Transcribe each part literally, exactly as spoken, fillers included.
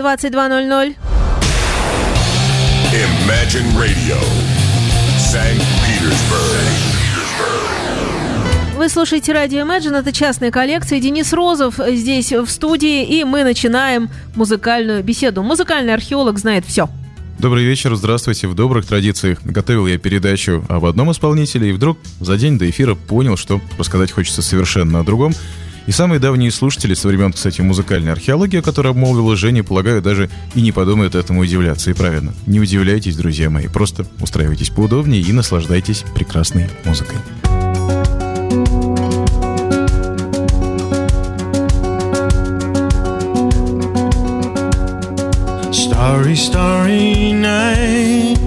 двадцать два ноль ноль. Imagine Radio, Санкт-Петербург. Вы слушаете радио Imagine, это частная коллекция. Денис Розов здесь в студии, и мы начинаем музыкальную беседу. Музыкальный археолог знает все. Добрый вечер, здравствуйте. В добрых традициях готовил я передачу об одном исполнителе, и вдруг за день до эфира понял, что рассказать хочется совершенно о другом. И самые давние слушатели со времен, кстати, музыкальной археологии, о которой обмолвила Женя, полагаю, даже и не подумают этому удивляться. И правильно, не удивляйтесь, друзья мои, просто устраивайтесь поудобнее и наслаждайтесь прекрасной музыкой. Starry, starry night.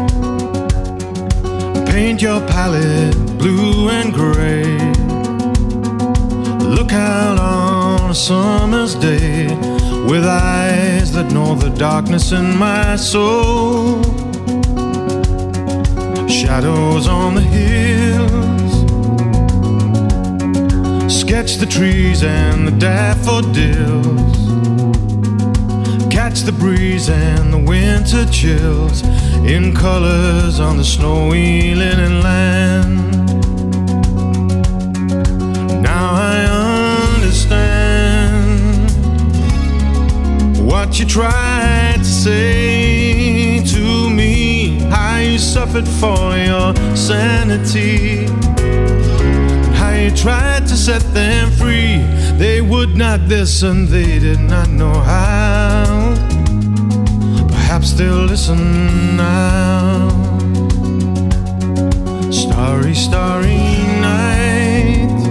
Paint your palette blue and gray. Look out on a summer's day with eyes that know the darkness in my soul. Shadows on the hills. Sketch the trees and the daffodils. Catch the breeze and the winter chills in colors on the snowy linen land. Now I understand what you tried to say to me, how you suffered for your sanity, how you tried to set them free. They would not listen, they did not know how. Perhaps they'll listen now. Starry, starry night.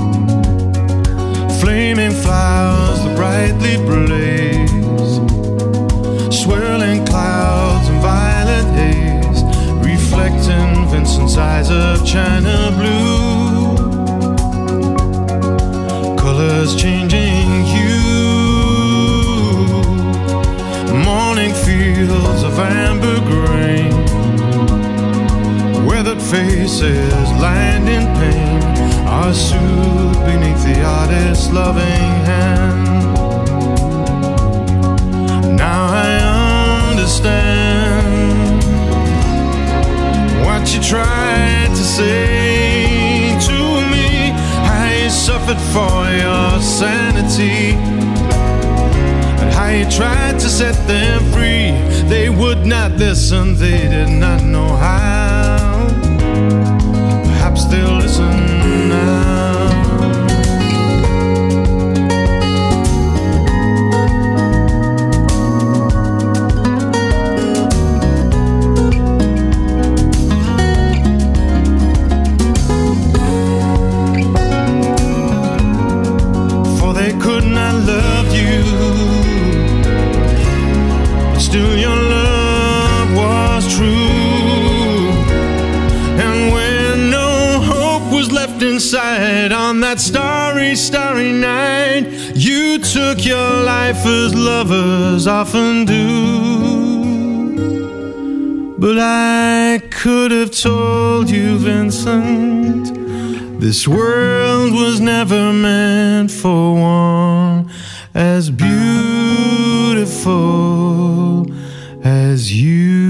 Flaming flowers that brightly blaze. Swirling clouds and violet haze, reflecting Vincent's eyes of china blue. Colors changing hue. Morning fields of amber grain. Weathered faces lined in pain are soothed beneath the artist's loving hand. Now I understand what you tried to say to me, how you suffered for your sanity, and how you tried to set them free. They would not listen, they did not know how. Perhaps they'll listen now. Still your love was true. And when no hope was left inside on that starry, starry night, you took your life as lovers often do. But I could have told you, Vincent, this world was never meant for one as beautiful as you.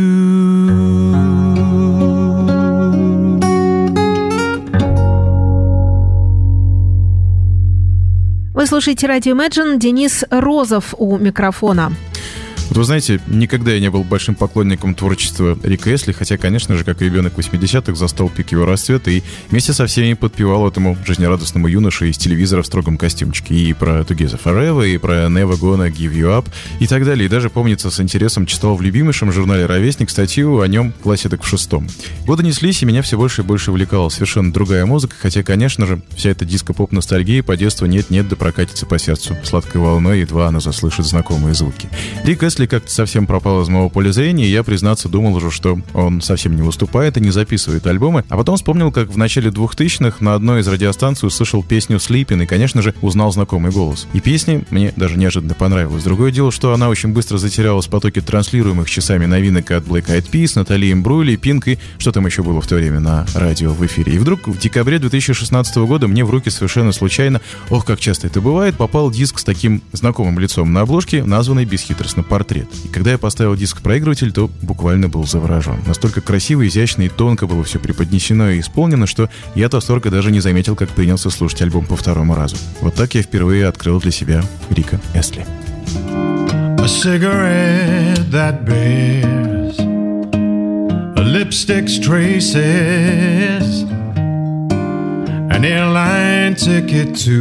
Вы слушаете радио Imagine, Денис Розов у микрофона. Вот вы знаете, никогда я не был большим поклонником творчества Рика Эсли, хотя, конечно же, как и ребенок восьмидесятых, застал пик его расцвета и вместе со всеми подпевал этому жизнерадостному юноше из телевизора в строгом костюмчике. И про Together Forever, и про Never Gonna Give You Up, и так далее. И даже, помнится, с интересом читал в любимейшем журнале «Ровесник» статью о нем классе так в шестом. Годы неслись, и меня все больше и больше увлекала совершенно другая музыка, хотя, конечно же, вся эта диско-поп-ностальгия по детству нет-нет да прокатится по сердцу сладкой волной, едва она заслышит знакомые звуки. Рик Эсли Эсли как-то совсем пропал из моего поля зрения, и я, признаться, думал уже, что он совсем не выступает и не записывает альбомы. А потом вспомнил, как в начале двухтысячных на одной из радиостанций услышал песню «Sleepin'» и, конечно же, узнал знакомый голос. И песня мне даже неожиданно понравилась. Другое дело, что она очень быстро затерялась в потоке транслируемых часами новинок от Black Eyed Peas, Натали Имбрули, Пинк и что там еще было в то время на радио в эфире. И вдруг в декабре две тысячи шестнадцатого года мне в руки совершенно случайно, ох, как часто это бывает, попал диск с таким знакомым лицом на обложке, названный бесхитростно «Портрет». И когда я поставил диск в проигрыватель, то буквально был заворожен. Настолько красиво, изящно и тонко было все преподнесено и исполнено, что я от восторга даже не заметил, как принялся слушать альбом по второму разу. Вот так я впервые открыл для себя Рика Эсли. A cigarette that bears a lipstick's traces, an airline ticket to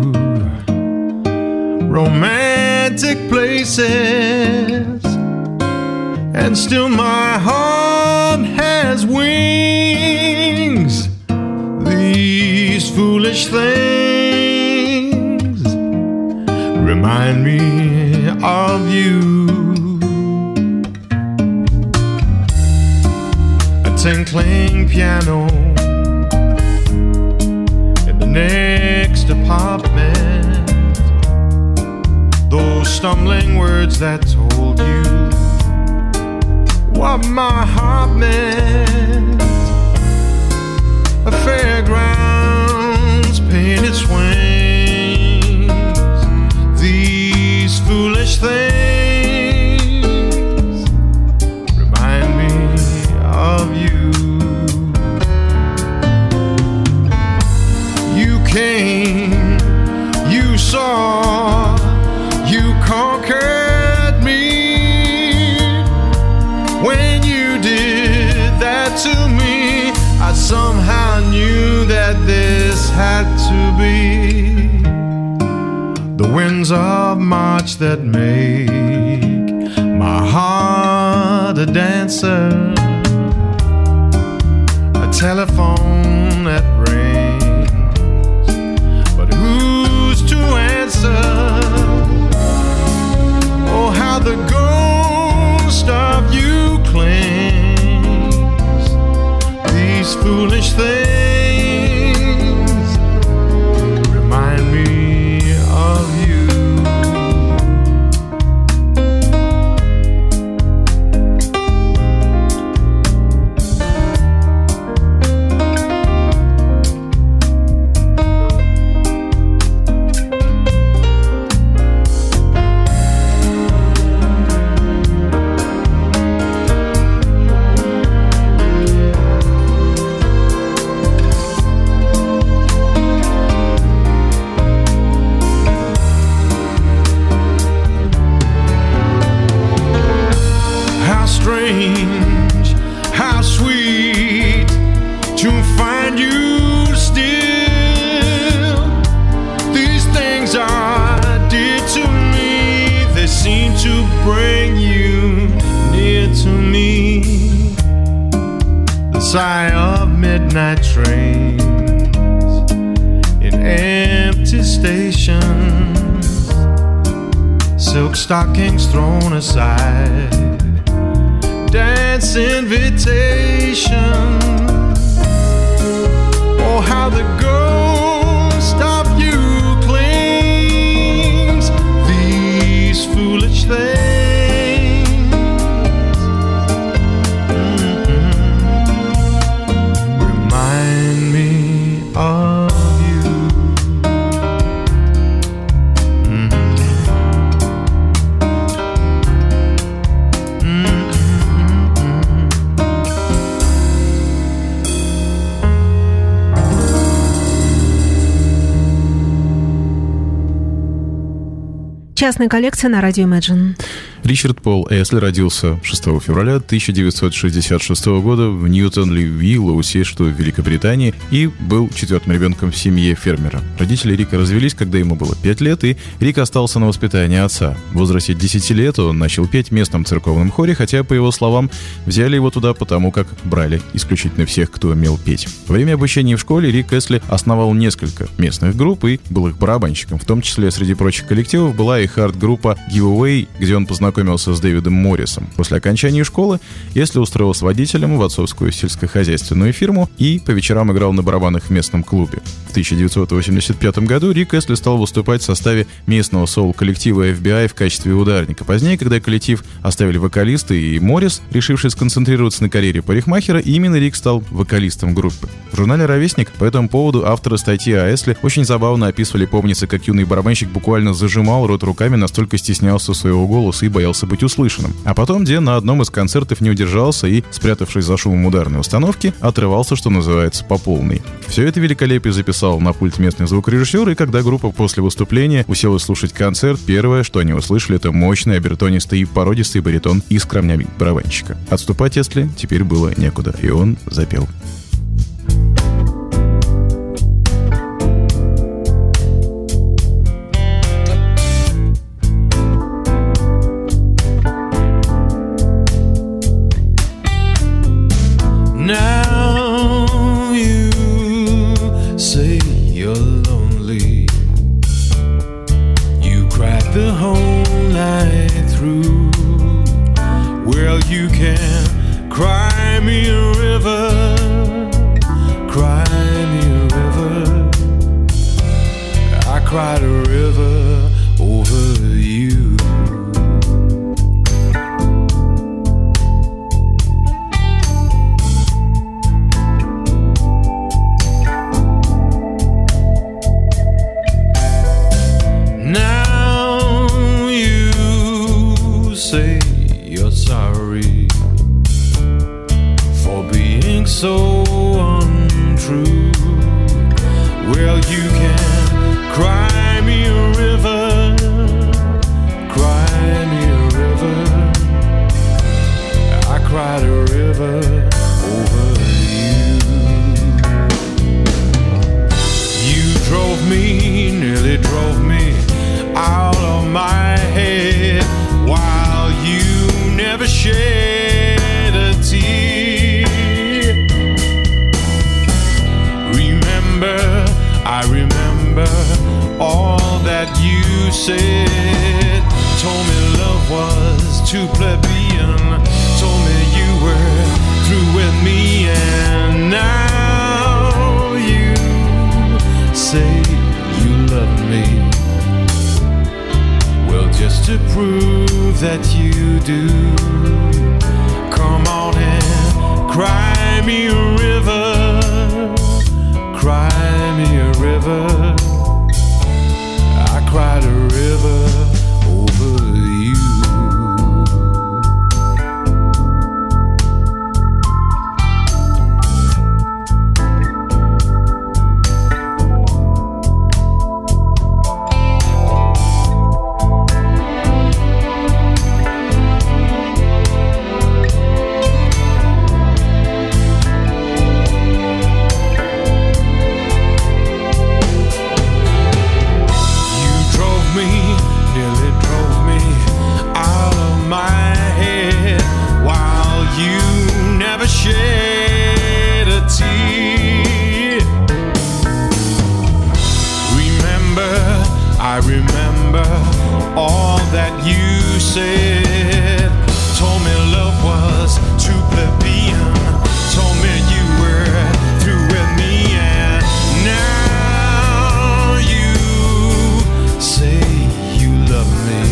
romantic places, and still my heart has wings. These foolish things remind me of you. A tinkling piano in the next apartment, those stumbling words that told you what my heart meant. A fairground's painted swings, these foolish things remind me of you. You came, you saw, you conquered me. When you did that to me, I somehow knew that this had to be the winds of March that make my heart a dancer, a telephone that rings, but who's to answer? Oh, how the ghost of you clings, these foolish things remind me of you. Strange, how sweet to find you still. These things are dear to me, they seem to bring you near to me. The sigh of midnight trains in empty stations, silk stockings thrown aside, dance invitation. Oh, how the ghost of you clings, these foolish things mm-hmm. remind me of you. Mm-hmm. Частная коллекция на радио Imagine. Ричард Пол Эсли родился шестого февраля тысяча девятьсот шестьдесят шестого года в Ньютон-ли-Виллоусе, что в Великобритании, и был четвертым ребенком в семье фермера. Родители Рика развелись, когда ему было пять лет, и Рик остался на воспитании отца. В возрасте десяти лет он начал петь в местном церковном хоре, хотя, по его словам, взяли его туда потому, как брали исключительно всех, кто умел петь. Во время обучения в школе Рик Эсли основал несколько местных групп и был их барабанщиком. В том числе, среди прочих коллективов, была их хард-группа Giveaway, где он познакомился с Дэвидом Моррисом. После окончания школы Эсли устроился водителем в отцовскую сельскохозяйственную фирму и по вечерам играл на барабанах в местном клубе. В тысяча девятьсот восемьдесят пятом году Рик Эсли стал выступать в составе местного соул-коллектива эф би ай в качестве ударника. Позднее, когда коллектив оставили вокалисты и Моррис, решивший сконцентрироваться на карьере парикмахера, именно Рик стал вокалистом группы. В журнале «Ровесник» по этому поводу авторы статьи о Эсли очень забавно описывали, помнится, как юный барабанщик буквально зажимал рот руками, настолько стеснялся своего голоса и боялся быть услышанным. А потом Ден на одном из концертов не удержался и, спрятавшись за шумом ударной установки, отрывался, что называется, по полной. Все это великолепие записал на пульт местный звукорежиссер, и когда группа после выступления уселась слушать концерт, первое, что они услышали, это мощный, обертонистый и породистый баритон и скромнями барабанщика. Отступать Эсли теперь было некуда, и он запел. Now you say you're lonely. You cried the whole night through. Well, you can cry me a river, cry me a river. I cried a river over you. Now you say you're sorry for being so untrue. Well, you can cry me a river, cry me a river. I cried a river over you. You drove me, nearly drove me out of my head, while you never shed a tear. Remember, I remember all that you said. Told me love was too plebeian, told me you were through with me, and now you say you love me. Well, just to prove that you do, come on and cry me a river, cry me a river. I cried a river over you. Shed a tear. Remember, I remember all that you said. Told me love was too plebeian, told me you were through with me, and now you say you love me.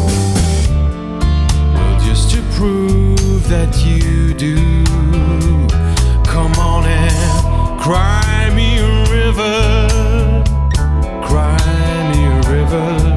Well, just to prove that you do, come on and cry me a river, cry me a river.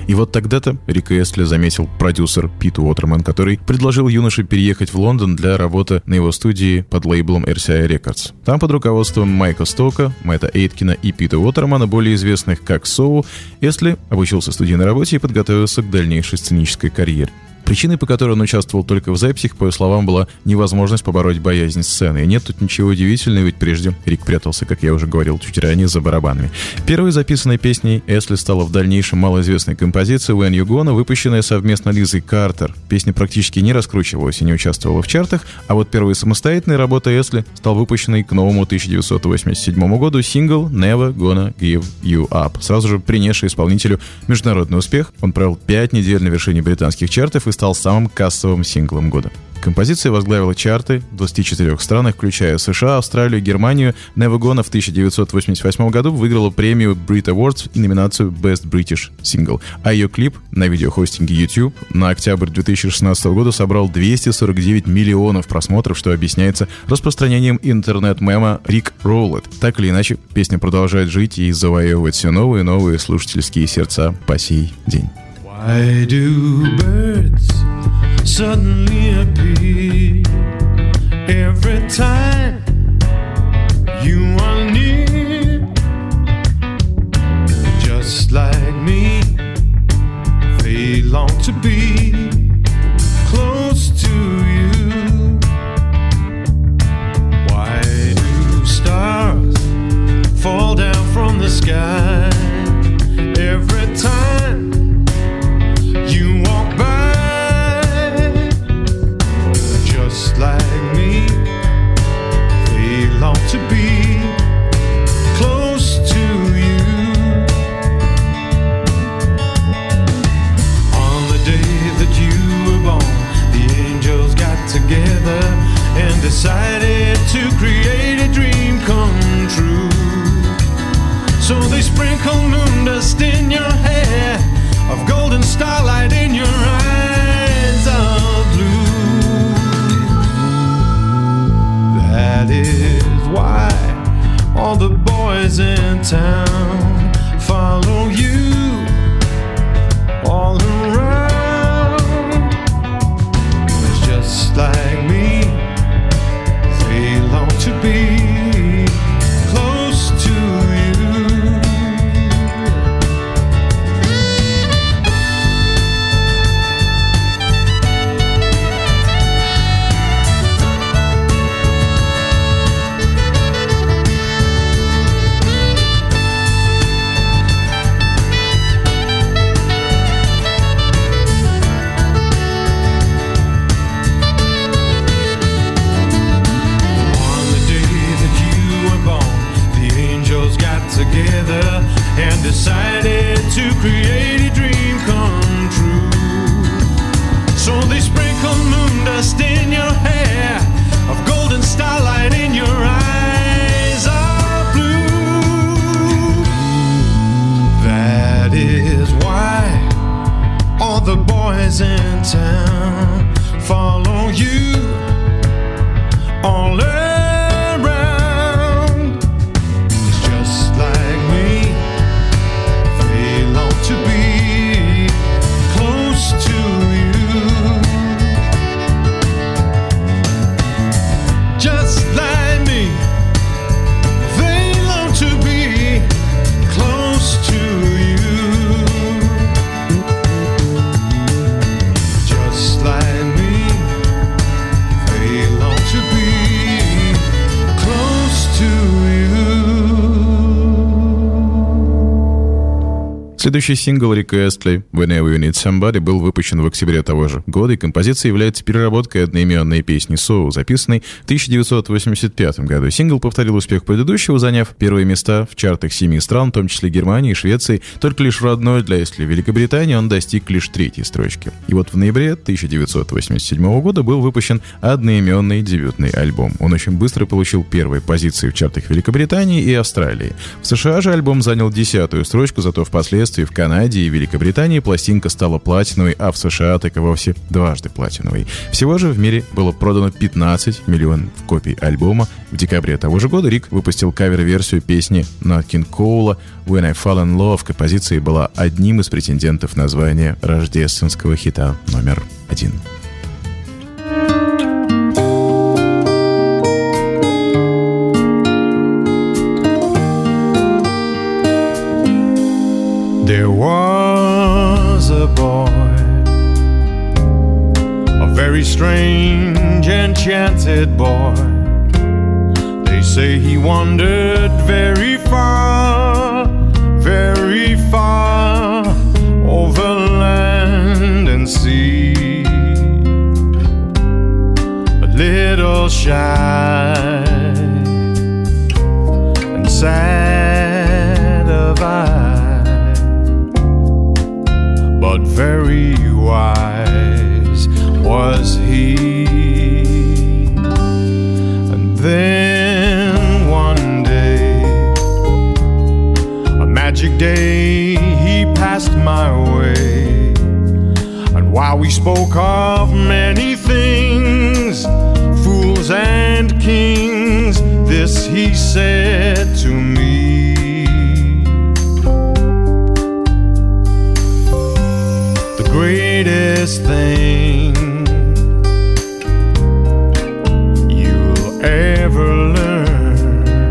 И вот тогда-то Рика Эстли заметил продюсер Пит Уотерман, который предложил юноше переехать в Лондон для работы на его студии под лейблом эр си ай Records. Там под руководством Майка Стока, Мэтта Эйткина и Пита Уотермана, более известных как Соу, Эстли обучился студийной работе и подготовился к дальнейшей сценической карьере. Причиной, по которой он участвовал только в записях, по его словам, была невозможность побороть боязнь сцены. И нет тут ничего удивительного, ведь прежде Рик прятался, как я уже говорил чуть ранее, за барабанами. Первой записанной песней Эстли стала в дальнейшем малоизвестная композиция «When You Gonna», выпущенная совместно Лизой Картер. Песня практически не раскручивалась и не участвовала в чартах, а вот первой самостоятельной работой Эстли стал выпущенный к новому тысяча девятьсот восемьдесят седьмому году сингл «Never Gonna Give You Up», сразу же принесший исполнителю международный успех. Он провел пять недель на вершине британских чартов и стал самым кассовым синглом года. Композиция возглавила чарты в двадцати четырёх странах, включая США, Австралию, Германию. Never Gonna в тысяча девятьсот восемьдесят восьмом году выиграла премию Brit Awards и номинацию Best British Single. А ее клип на видеохостинге YouTube на октябрь две тысячи шестнадцатого года собрал двести сорок девять миллионов просмотров, что объясняется распространением интернет-мема Rick Roll It. Так или иначе, песня продолжает жить и завоевывать все новые и новые слушательские сердца по сей день. Why do birds suddenly appear every time you are near? Just like me, they long to be close to you. Why do stars fall down from the sky every time you walk by? Just like me, they long to be close to you. On the day that you were born, the angels got together and decided to create a dream come true. So they sprinkled moon dust in your hair, of golden starlight in your eyes of blue. That is why all the boys in town follow you all around. It's just like me, they long to be close to you. Together and decided to create a dream come true. So they sprinkle moon dust in your hair, of golden starlight in your eyes of blue. That is why all the boys in town follow you all around. Следующий сингл Рика Эстли «Whenever You Need Somebody» был выпущен в октябре того же года, и композиция является переработкой одноименной песни «Soul», записанной в тысяча девятьсот восемьдесят пятом году. Сингл повторил успех предыдущего, заняв первые места в чартах семи стран, в том числе Германии и Швеции. Только лишь в родной для Эстли Великобритании он достиг лишь третьей строчки. И вот в ноябре тысяча девятьсот восемьдесят седьмого года был выпущен одноименный дебютный альбом. Он очень быстро получил первые позиции в чартах Великобритании и Австралии. В США же альбом занял десятую строчку, зато впоследствии в Канаде и Великобритании пластинка стала платиновой, а в США так и вовсе дважды платиновой. Всего же в мире было продано пятнадцать миллионов копий альбома. В декабре того же года Рик выпустил кавер-версию песни Нат Кинг Коула «When I Fall in Love». Композиция была одним из претендентов на звание рождественского хита номер один. There was a boy, a very strange, enchanted boy. They say he wandered very far, very far, over land and sea. A little shy and sad of eye, but very wise was he. And then one day, a magic day, he passed my way. And while we spoke of many things, fools and kings, this he said to me: the greatest thing you'll ever learn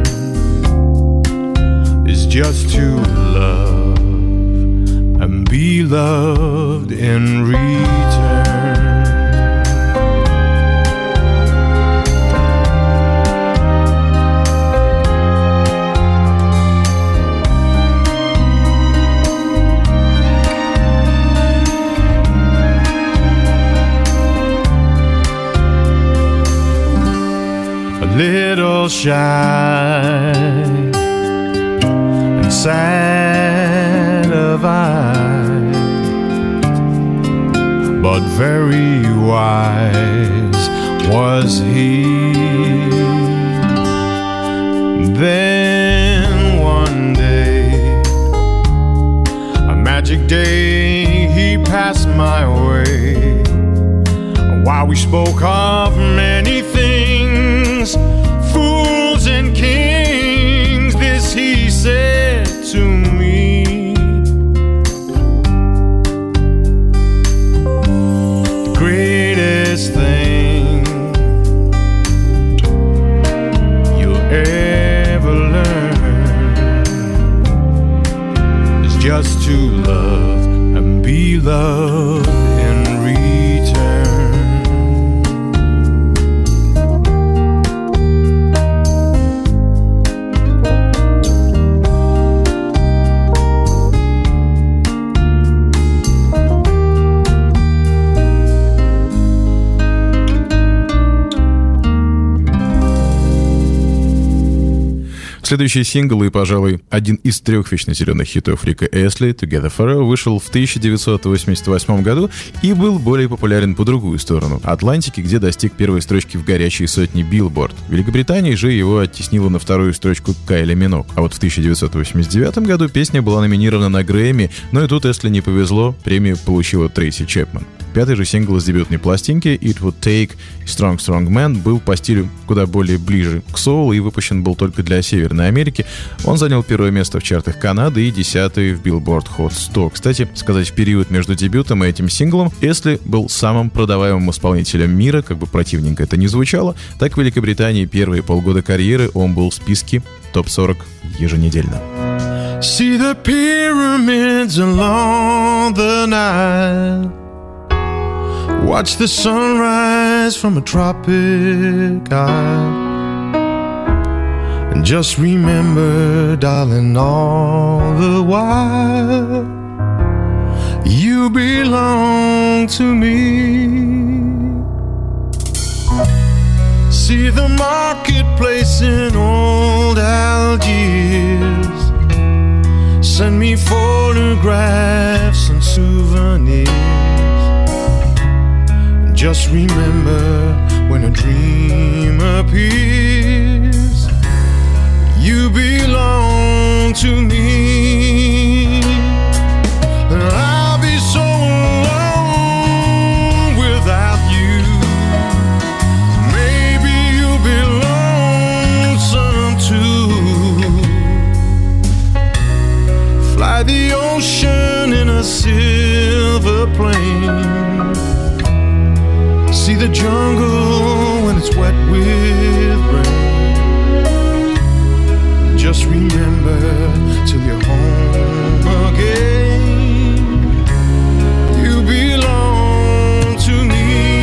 is just to love and be loved in return. Little shy and sad of eye, but very wise was he. Then one day, a magic day, he passed my way. While we spoke of many things, fools and kings, this he said to me: the greatest thing you'll ever learn is just to love and be loved in return. Следующий сингл и, пожалуй, один из трех вечно зеленых хитов Рика Эсли, «Together Forever», вышел в тысяча девятьсот восемьдесят восьмом году и был более популярен по другую сторону Атлантики, где достиг первой строчки в горячей сотне Billboard. В Великобритании же его оттеснила на вторую строчку Кайли Миноуг. А вот в тысяча девятьсот восемьдесят девятом году песня была номинирована на Грэмми, но и тут Эсли не повезло, премию получила Трейси Чепман. Пятый же сингл с дебютной пластинки «It Would Take Strong Strong Man» был по стилю куда более ближе к соулу и выпущен был только для Северной Америки. Он занял первое место в чартах Канады и десятое в Billboard Hot сто. Кстати, сказать, в период между дебютом и этим синглом Эсли был самым продаваемым исполнителем мира, как бы противненько это ни звучало. Так в Великобритании первые полгода карьеры он был в списке топ сорок еженедельно. See the pyramids along the Nile, watch the sunrise from a tropic isle, and just remember, darling, all the while you belong to me. See the marketplace in old Algiers, send me photographs and souvenirs. Just remember, when a dream appears, you belong to me. ocean in a silver plane. See the jungle when it's wet with rain. Just remember till you're home again, you belong to me.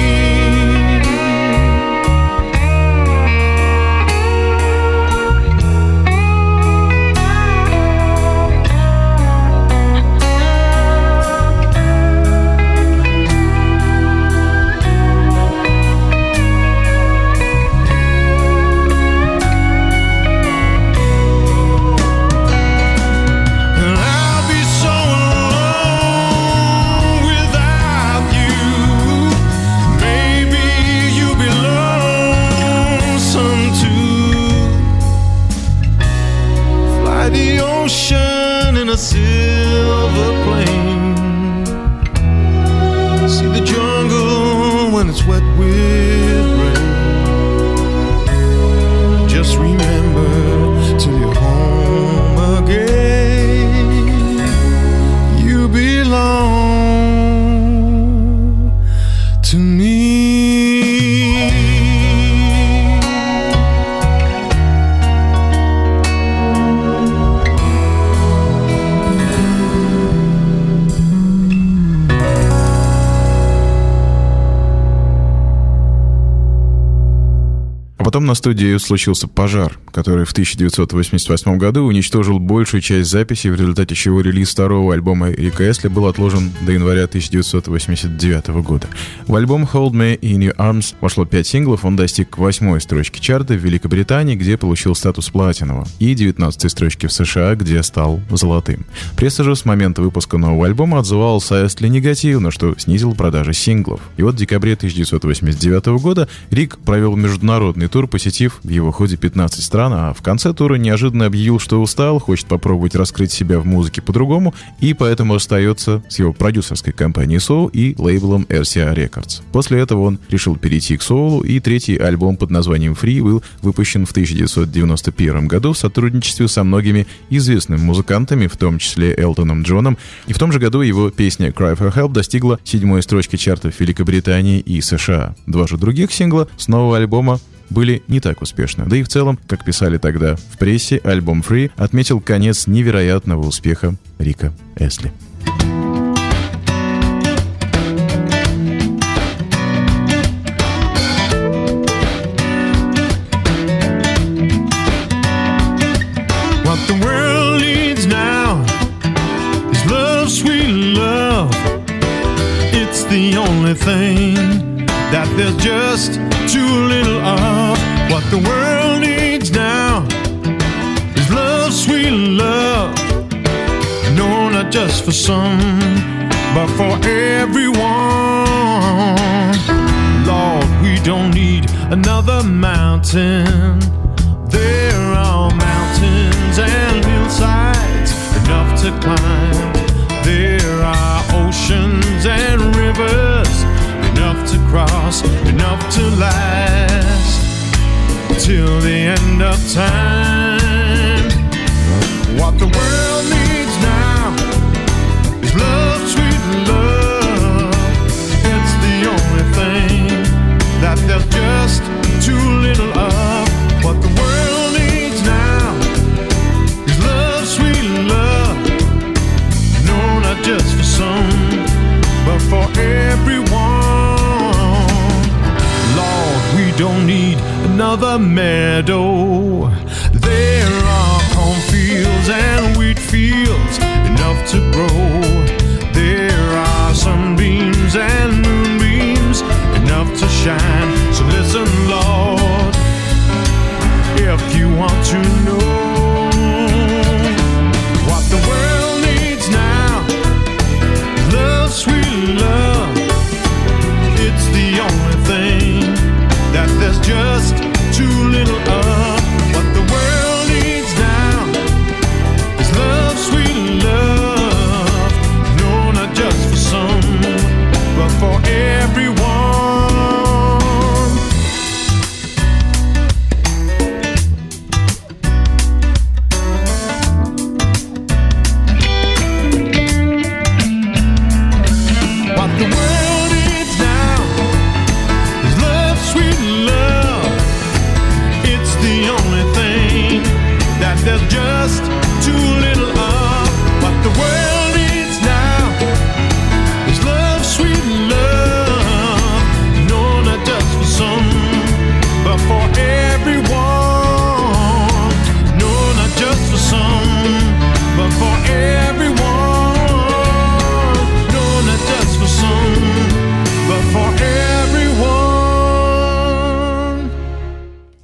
Потом на студии случился пожар, который в тысяча девятьсот восемьдесят восьмом году уничтожил большую часть записей, в результате чего релиз второго альбома Рика Эсли был отложен до января тысяча девятьсот восемьдесят девятого года. В альбом Hold Me in Your Arms вошло пять синглов, он достиг восьмой строчки чарта в Великобритании, где получил статус платинового, и девятнадцатой строчки в США, где стал золотым. Пресса же с момента выпуска нового альбома отзывалась о Эсли негативно, что снизило продажи синглов. И вот в декабре тысяча девятьсот восемьдесят девятого года Рик провел международный тур, посетив в его ходе пятнадцать стран, а в конце тура неожиданно объявил, что устал, хочет попробовать раскрыть себя в музыке по-другому, и поэтому остается с его продюсерской компанией Soul и лейблом эр си эй Records. После этого он решил перейти к соулу, и третий альбом под названием Free был выпущен в тысяча девятьсот девяносто первом году в сотрудничестве со многими известными музыкантами, в том числе Элтоном Джоном, и в том же году его песня Cry for Help достигла седьмой строчки чартов Великобритании и США. Два же других сингла с нового альбома были не так успешны. Да и в целом, как писали тогда в прессе, альбом Free отметил конец невероятного успеха Рика Эсли. What the world needs now is love, sweet love. It's the only thing that there's just too little of. What the world needs now is love, sweet love. No, not just for some, but for everyone. Lord, we don't need another mountain. There are mountains and hillsides enough to climb. There are oceans and rivers enough to cross, enough to last till the end of time. What the world needs now is love, sweet love. It's the only thing that there's just too little of. What the world needs now is love, sweet love. No, not just for some, but for everyone. We don't need another meadow. There are cornfields and wheat fields enough to grow. There are sunbeams and moonbeams enough to shine. So listen, Lord, if you want to know what the world needs now, love, sweet love. It's the only thing that there's just too little of.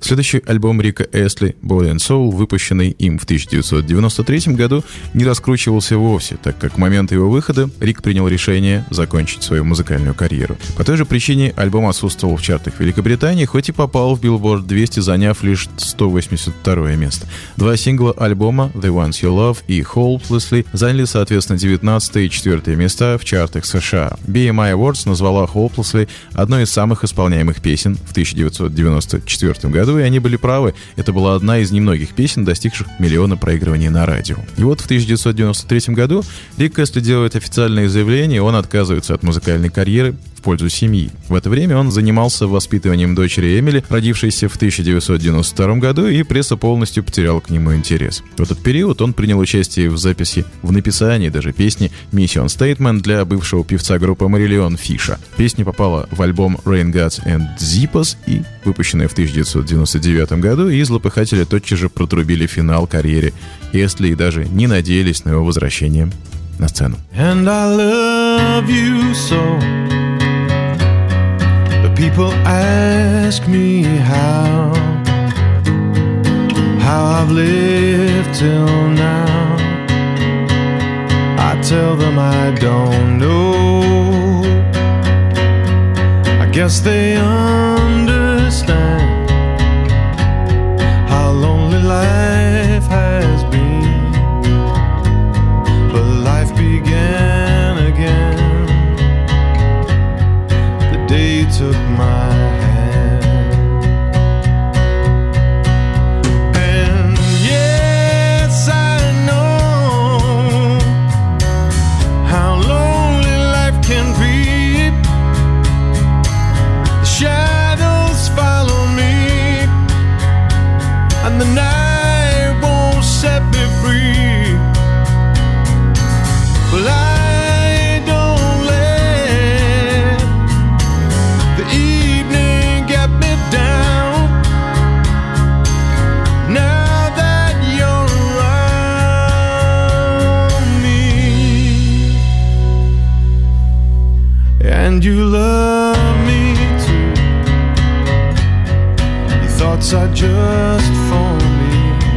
Следующий альбом Рика Эстли «Body and Soul», выпущенный им в тысяча девятьсот девяносто третьем году, не раскручивался вовсе, так как к моменту его выхода Рик принял решение закончить свою музыкальную карьеру. По той же причине альбом отсутствовал в чартах Великобритании, хоть и попал в Billboard двести, заняв лишь сто восемьдесят второе место. Два сингла альбома «The Ones You Love» и «Hopelessly» заняли, соответственно, девятнадцатое и четвертое места в чартах США. би эм ай Awards назвала «Hopelessly» одной из самых исполняемых песен в тысяча девятьсот девяносто четвертом году, и они были правы. Это была одна из немногих песен, достигших миллиона проигрываний на радио. И вот в тысяча девятьсот девяносто третьем году Рик Эстли делает официальное заявление, он отказывается от музыкальной карьеры в пользу семьи. В это время он занимался воспитыванием дочери Эмили, родившейся в тысяча девятьсот девяносто втором году, и пресса полностью потеряла к нему интерес. В этот период он принял участие в записи, в написании даже песни «Mission Statement» для бывшего певца группы Marillion Фиша. Песня попала в альбом Rain Gods and Zippos и выпущенная в тысяча девятьсот девяносто девятом году, и злопыхатели тотчас же протрубили финал карьере Эстли и даже не надеялись на его возвращение на сцену. And I love you so. The people ask me how, how I've lived till now. I tell them I don't know. I guess they understand how lonely life has been. But life began again the day you took my hand. And yes, I know how lonely life can be. The shadows follow me, and the night won't set me free. Well, I don't let the evening get me down. Now that you're around me, and you love me too. Your thoughts are just for me.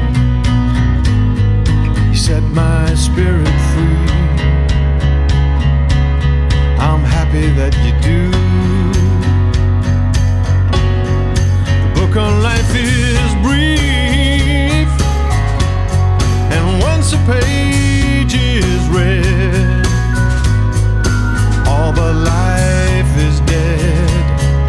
You set my spirit free. I'm happy that you do. The book on life is brief, and once a page is read, all but life is dead.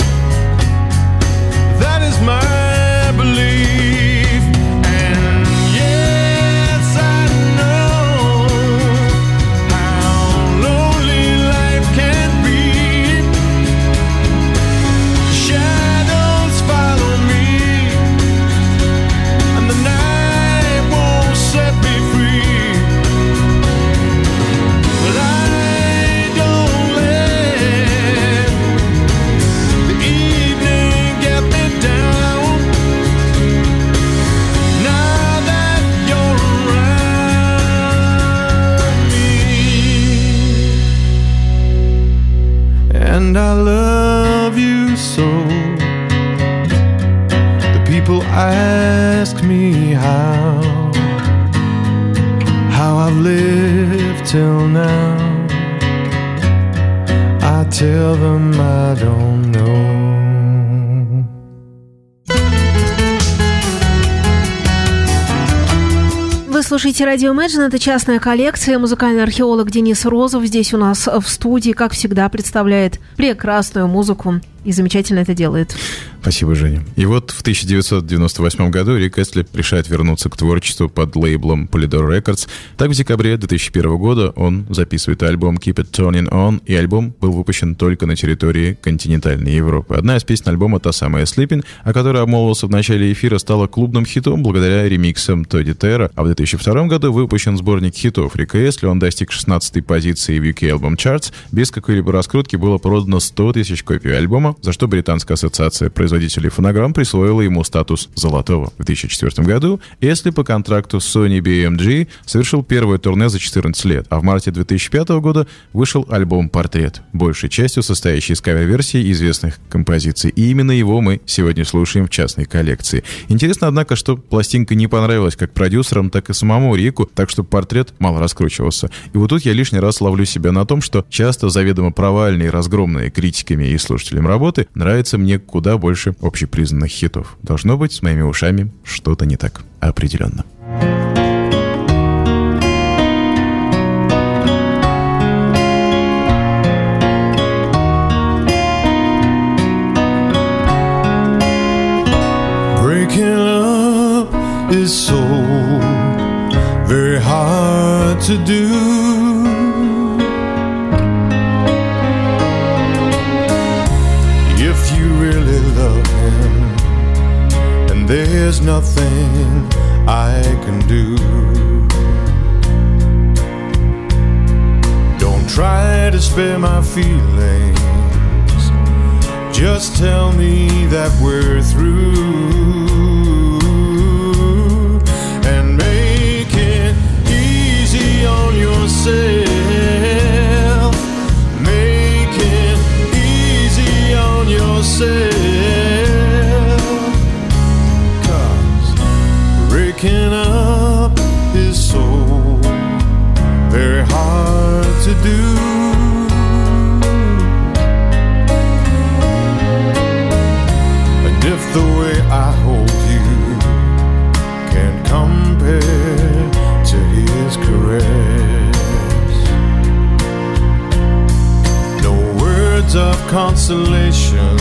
That is my belief. And yes, I know how lonely life can be. Shadows follow me, and the night won't set me free. But I don't let the evening get me down. Now that you're around me, and I love you so. The people ask me how, how I've lived till now. I tell them I don't know. Вы слушаете радио Imagine, это частная коллекция. Музыкальный археолог Денис Розов здесь у нас в студии, как всегда, представляет прекрасную музыку и замечательно это делает. Спасибо, Женя. И вот в тысяча девятьсот девяносто восьмом году Рик Эстли решает вернуться к творчеству под лейблом Polydor Records. Так, в декабре две тысячи первого года он записывает альбом Keep It Turning On, и альбом был выпущен только на территории континентальной Европы. Одна из песен альбома, та самая Sleeping, о которой обмолвился в начале эфира, стала клубным хитом благодаря ремиксам Тодди Терра, а в две тысячи втором году выпущен сборник хитов Рика Эстли. Он достиг шестнадцатой позиции в ю кей Album Charts. Без какой-либо раскрутки было продано сто тысяч копий альбома. демо, за что Британская ассоциация производителей фонограмм присвоила ему статус золотого. В две тысячи четвёртом году Эсли по контракту с Sony би эм джи совершил первое турне за четырнадцать лет, а в марте две тысячи пятого года вышел альбом «Портрет», большей частью состоящий из кавер-версий известных композиций. И именно его мы сегодня слушаем в частной коллекции. Интересно, однако, что пластинка не понравилась как продюсерам, так и самому Рику, так что «Портрет» мало раскручивался. И вот тут я лишний раз ловлю себя на том, что часто заведомо провальные, разгромные критиками и слушателям работы нравятся мне куда больше общепризнанных хитов. Должно быть, с моими ушами что-то не так. Определенно. Breaking up is so very hard to do. If you really love him, and there's nothing I can do. Don't try to spare my feelings. Just tell me that we're through. And make it easy on yourself. Make it easy on yourself. 'Cause breaking up is so very hard to do. And if the way I hold you can't compare to his caress, no words of consolation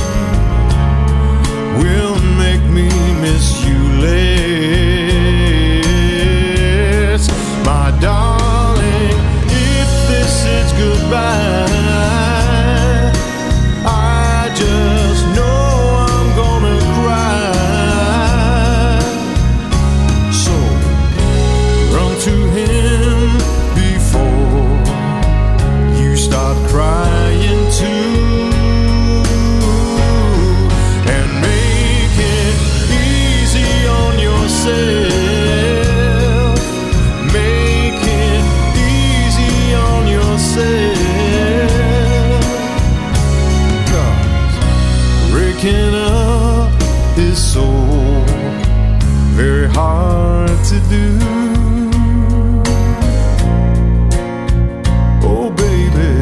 will make me miss you less. My darling, if this is goodbye, I just know I'm gonna cry. So run to him before you start crying too. And make it easy on yourself. Make it easy on yourself. 'Cause breaking up is so very hard to do. Oh baby,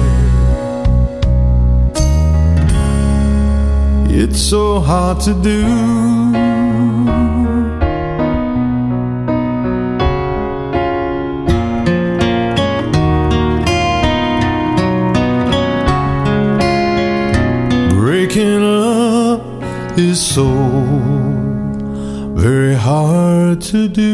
it's so hard to do. Breaking up is so very hard to do.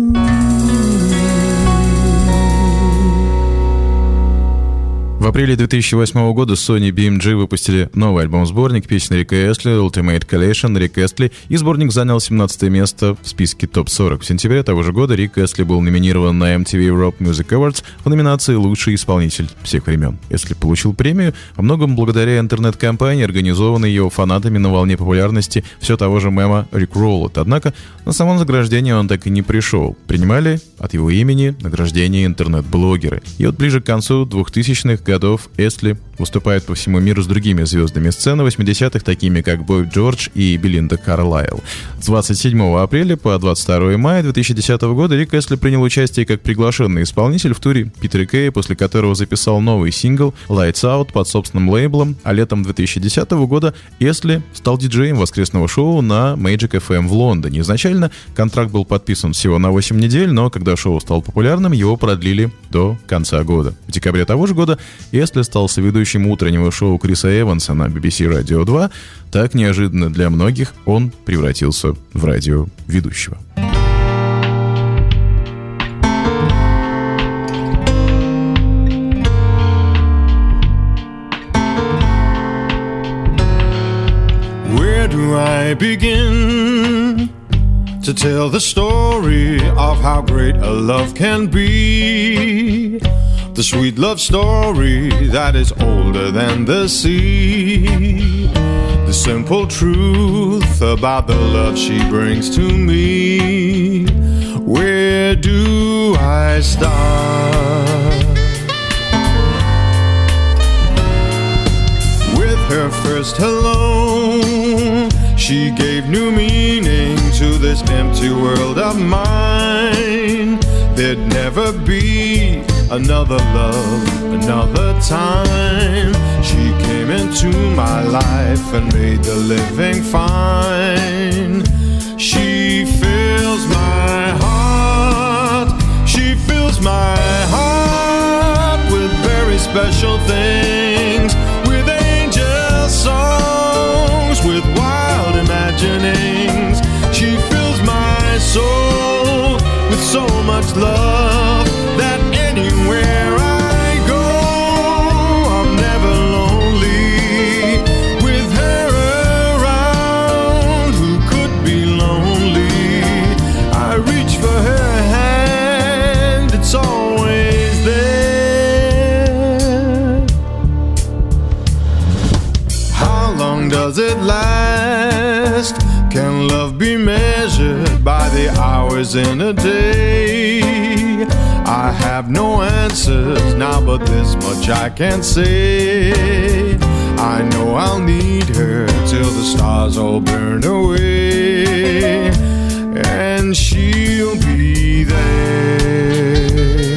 В апреле две тысячи восьмого года Sony би эм джи выпустили новый альбом-сборник песен Рика Эсли Ultimate Collection Рик Эсли, и сборник занял семнадцатое место в списке топ сорок. В сентябре того же года Рик Эсли был номинирован на эм ти ви Europe Music Awards в номинации «Лучший исполнитель всех времен». Эсли получил премию во многом благодаря интернет-кампании, организованной его фанатами на волне популярности все того же мема Rick Roll. Однако на само награждение он так и не пришел. Принимали от его имени награждение интернет-блогеры. И вот ближе к концу двухтысячных годов Эсли выступает по всему миру с другими звездами сцены восьмидесятых, такими как Бой Джордж и Белинда Карлайл. С двадцать седьмого апреля по двадцать второго мая две тысячи десятого года Рик Эсли принял участие как приглашенный исполнитель в туре Питера Кея, после которого записал новый сингл Lights Out под собственным лейблом, а летом две тысячи десятого года Эсли стал диджеем воскресного шоу на Magic эф эм в Лондоне. Изначально контракт был подписан всего на восемь недель, но когда шоу стало популярным, его продлили до конца года. В декабре того же года Эсли стал соведущим утреннего шоу Криса Эванса на би би си Radio два. Так неожиданно для многих он превратился в радиоведущего. Where do I begin to tell the story of how great a love can be? The sweet love story that is older than the sea. simple truth about the love she brings to me. Where do I start? With her first hello, she gave new meaning to this empty world of mine. There'd never be another love, another time. She came into my life and made the living fine. She fills my heart, she fills my heart with very special things, with angel songs, with wild imaginings. She fills my soul with so much love that anywhere I go, I'm never lonely. With her around, who could be lonely? I reach for her hand, it's always there. How long does it last? Can love be measured by the hours in a day? I have no answers now, but this much I can say. I know I'll need her till the stars all burn away, and she'll be there.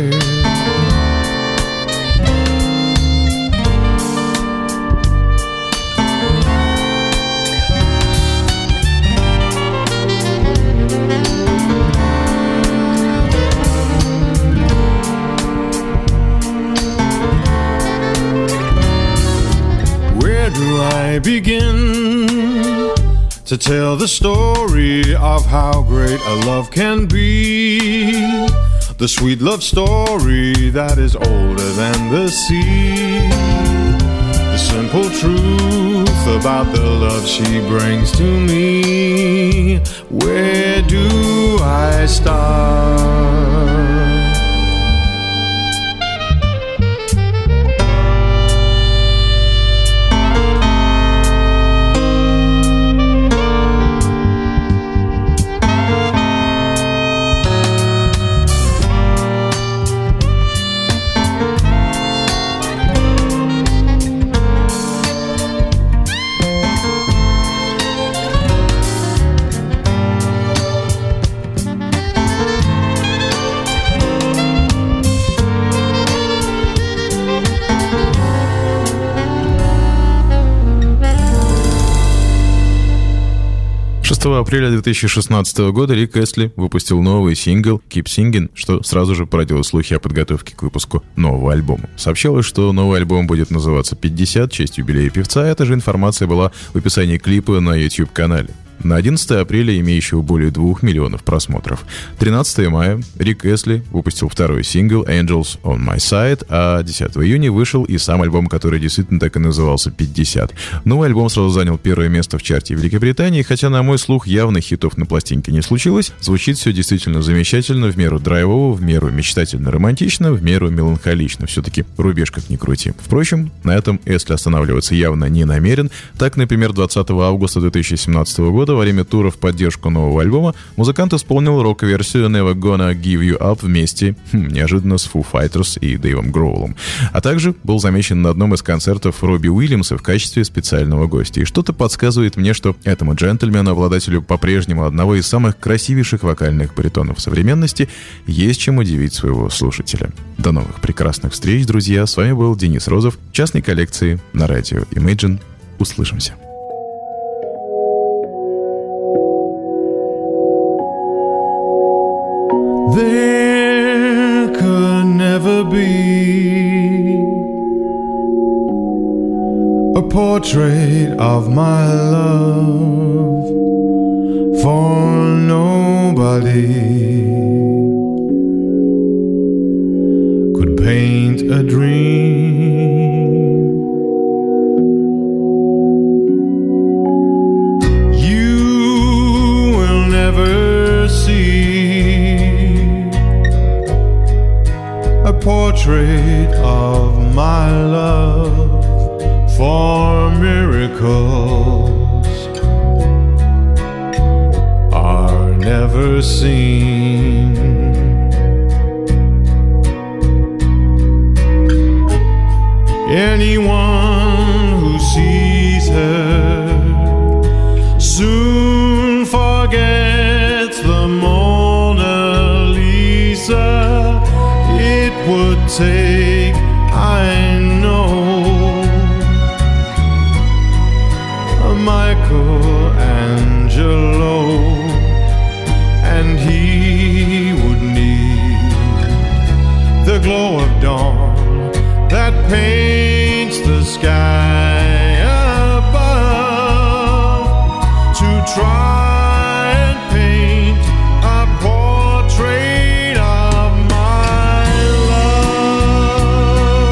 I begin to tell the story of how great a love can be, the sweet love story that is older than the sea, the simple truth about the love she brings to me. Where do I start? шестого апреля две тысячи шестнадцатого года Рик Эстли выпустил новый сингл «Keep Singing», что сразу же породило слухи о подготовке к выпуску нового альбома. Сообщалось, что новый альбом будет называться «пятьдесят», в честь юбилея певца. Эта же информация была в описании клипа на YouTube-канале. На одиннадцатое апреля, имеющего более двух миллионов просмотров. тринадцатого мая Рик Эстли выпустил второй сингл «Angels on My Side», а десятого июня вышел и сам альбом, который действительно так и назывался «пятьдесят». Новый альбом сразу занял первое место в чарте Великобритании, хотя, на мой слух, явных хитов на пластинке не случилось. Звучит все действительно замечательно, в меру драйвово, в меру мечтательно-романтично, в меру меланхолично. Все-таки рубеж как ни крути. Впрочем, на этом Эстли останавливаться явно не намерен. Так, например, двадцатого августа две тысячи семнадцатого года во время тура в поддержку нового альбома музыкант исполнил рок-версию «Never Gonna Give You Up» вместе, хм, неожиданно, с Foo Fighters и Дэйвом Гроулом. А также был замечен на одном из концертов Робби Уильямса в качестве специального гостя. И что-то подсказывает мне, что этому джентльмену, обладателю по-прежнему одного из самых красивейших вокальных баритонов современности, есть чем удивить своего слушателя. До новых прекрасных встреч, друзья. С вами был Денис Розов, частной коллекции на радио Imagine. Услышимся. There could never be a portrait of my love for nobody could paint a dream. You will never see a portrait of my love for a miracle ever seen. Anyone who sees her soon forgets the Mona Lisa. It would take, I know, a Michelangelo, and he would need the glow of dawn that paints the sky above to try and paint a portrait of my love.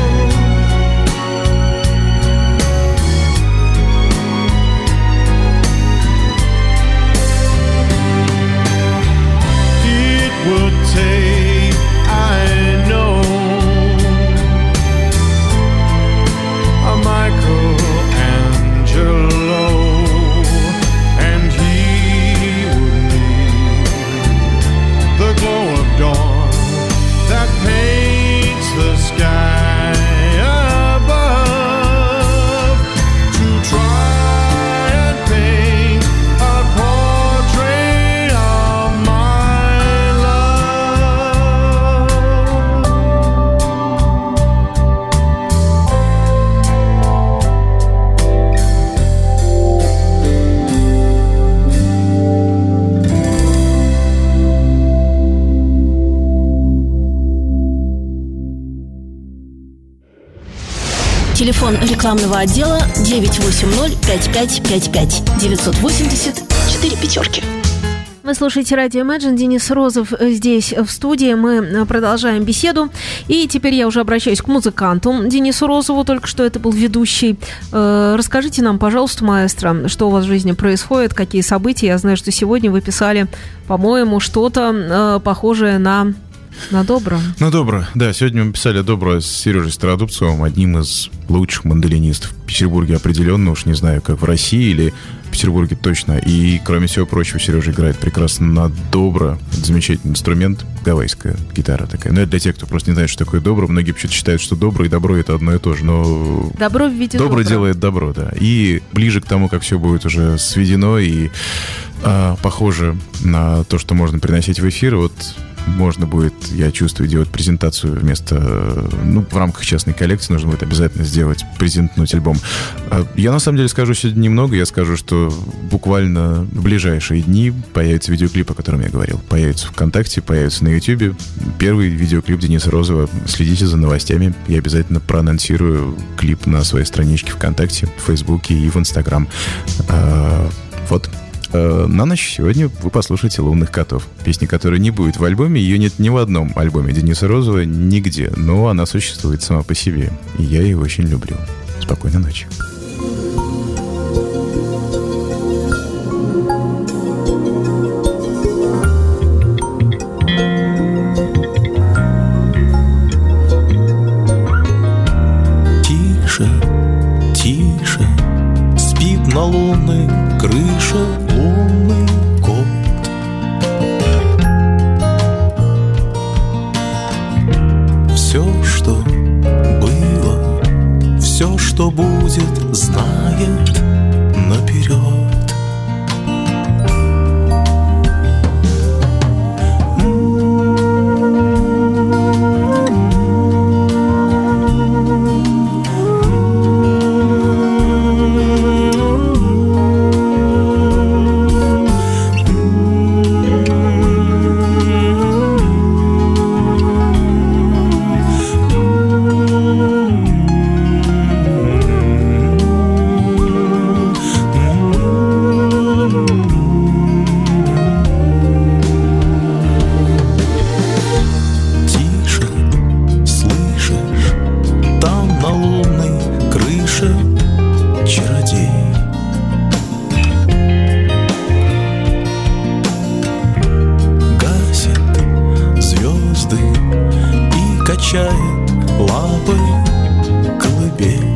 It would take, I know, Michelangelo, and he would need the glow of dawn that paints the sky above to try and paint a portrait of my Телефон рекламного отдела девять восемь ноль пять пять пять пять девятьсот восемьдесят четыре пятерки. Вы слушаете радио Imagine. Денис Розов здесь в студии. Мы продолжаем беседу. И теперь я уже обращаюсь к музыканту Денису Розову. Только что это был ведущий. Расскажите нам, пожалуйста, маэстро, что у вас в жизни происходит, какие события. Я знаю, что сегодня вы писали, по-моему, что-то похожее на... На добро. На добро, да. Сегодня мы писали добро с Сережей Стародубцевым, одним из лучших мандолинистов в Петербурге определенно, уж не знаю, как в России или в Петербурге точно. И, кроме всего прочего, Сережа играет прекрасно на добро. Это замечательный инструмент, гавайская гитара такая. Но это для тех, кто просто не знает, что такое добро. Многие почему-то считают, что добро и добро — это одно и то же. Но добро в виде добро добра. делает добро, да. И ближе к тому, как все будет уже сведено и а, похоже на то, что можно приносить в эфир, вот можно будет, я чувствую, делать презентацию вместо... Ну, в рамках частной коллекции нужно будет обязательно сделать, презентнуть альбом. Я, на самом деле, скажу сегодня немного. Я скажу, что буквально в ближайшие дни появится видеоклип, о котором я говорил. Появится ВКонтакте, появится на Ютубе. Первый видеоклип Дениса Розова. Следите за новостями. Я обязательно проанонсирую клип на своей страничке ВКонтакте, в Фейсбуке и в Инстаграм. Вот. На ночь сегодня вы послушаете «Лунных котов». Песни, которая не будет в альбоме. Ее нет ни в одном альбоме Дениса Розова, нигде. Но она существует сама по себе. И я ее очень люблю. Спокойной ночи. Тише, тише, спит на лунной крыше лунный кот. Все, что было, все, что будет, знает наперед. качает лапой колыбель.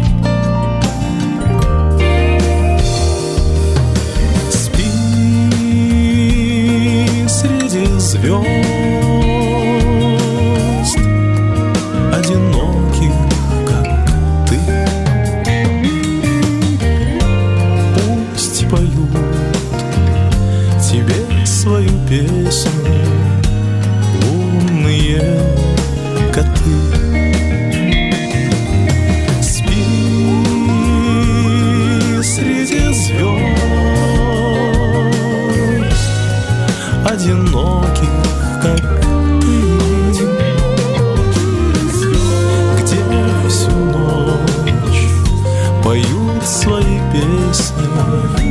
Спи, не мой.